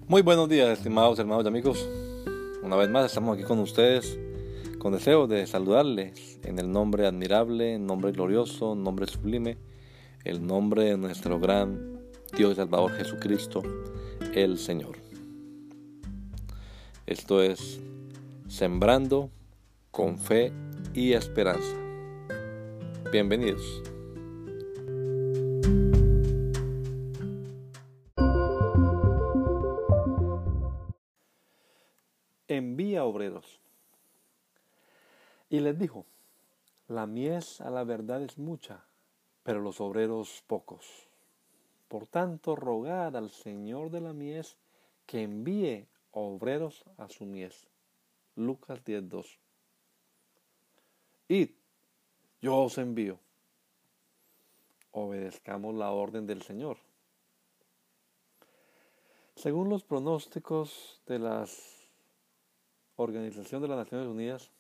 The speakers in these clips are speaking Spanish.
Muy buenos días, estimados hermanos y amigos. Una vez más estamos aquí con ustedes con deseo de saludarles en el nombre admirable, nombre glorioso, nombre sublime, el nombre de nuestro gran Dios y Salvador Jesucristo, el Señor. Esto es Sembrando con Fe y Esperanza. Bienvenidos. Envía obreros. Y les dijo: la mies a la verdad es mucha, pero los obreros pocos. Por tanto, rogad al Señor de la mies que envíe obreros a su mies. Lucas 10:2. Id, yo os envío. Obedezcamos la orden del Señor. Según los pronósticos de la Organización de las Naciones Unidas,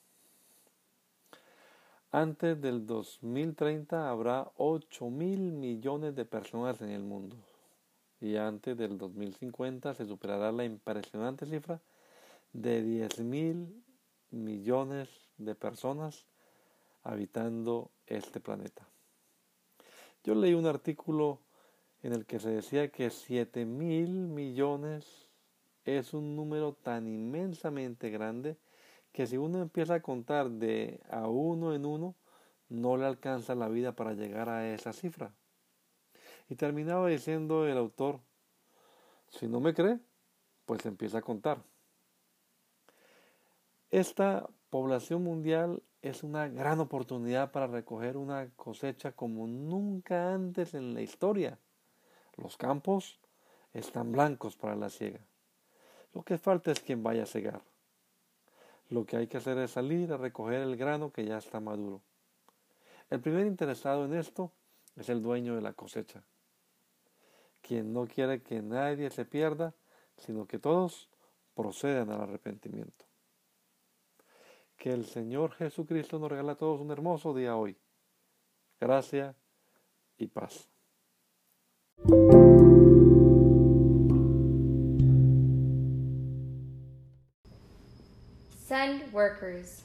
antes del 2030 habrá 8.000 millones de personas en el mundo, y antes del 2050 se superará la impresionante cifra de 10.000 millones de personas habitando este planeta. Yo leí un artículo en el que se decía que 7.000 millones es un número tan inmensamente grande que si uno empieza a contar de a uno en uno, no le alcanza la vida para llegar a esa cifra. Y terminaba diciendo el autor: si no me cree, pues empieza a contar. Esta población mundial es una gran oportunidad para recoger una cosecha como nunca antes en la historia. Los campos están blancos para la siega. Lo que falta es quien vaya a cegar. Lo que hay que hacer es salir a recoger el grano que ya está maduro. El primer interesado en esto es el dueño de la cosecha, quien no quiere que nadie se pierda, sino que todos procedan al arrepentimiento. Que el Señor Jesucristo nos regala a todos un hermoso día hoy. Gracia y paz. Send workers.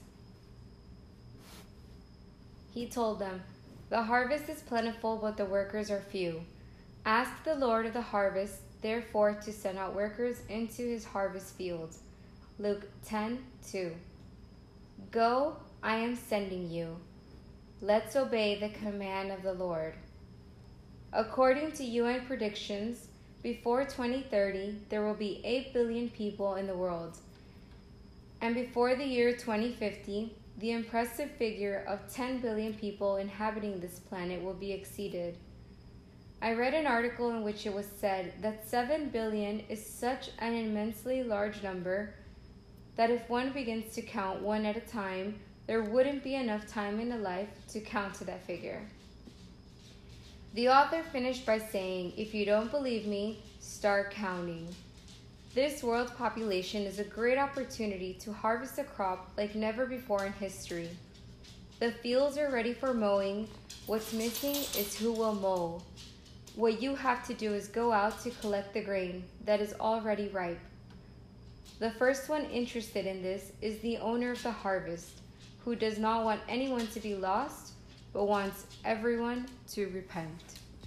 He told them, the harvest is plentiful, but the workers are few. Ask the Lord of the harvest, therefore, to send out workers into his harvest fields. Luke 10:2. Go, I am sending you. Let's obey the command of the Lord. According to UN predictions, before 2030, there will be 8 billion people in the world. And before the year 2050, the impressive figure of 10 billion people inhabiting this planet will be exceeded. I read an article in which it was said that 7 billion is such an immensely large number that if one begins to count one at a time, there wouldn't be enough time in a life to count to that figure. The author finished by saying, if you don't believe me, start counting. This world population is a great opportunity to harvest a crop like never before in history. The fields are ready for mowing. What's missing is who will mow. What you have to do is go out to collect the grain that is already ripe. The first one interested in this is the owner of the harvest, who does not want anyone to be lost, but wants everyone to repent.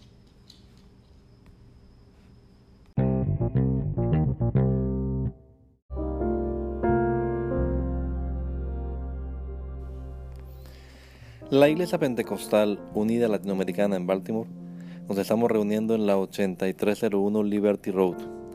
La Iglesia Pentecostal Unida Latinoamericana en Baltimore nos estamos reuniendo en la 8301 Liberty Road,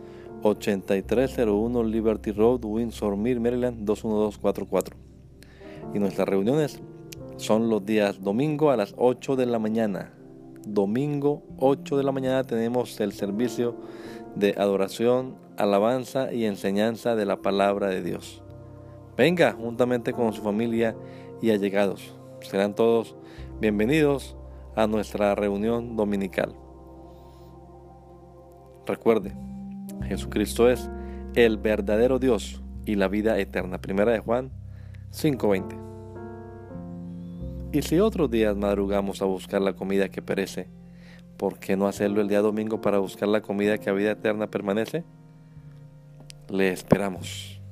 8301 Liberty Road, Windsor Mill, Maryland 21244. Y nuestras reuniones son los días domingo a las 8 de la mañana. Domingo 8 de la mañana tenemos el servicio de adoración, alabanza y enseñanza de la palabra de Dios. Venga juntamente con su familia y allegados. Serán todos bienvenidos a nuestra reunión dominical. Recuerde, Jesucristo es el verdadero Dios y la vida eterna. Primera de Juan 5:20. Y si otros días madrugamos a buscar la comida que perece, ¿por qué no hacerlo el día domingo para buscar la comida que a vida eterna permanece? Le esperamos.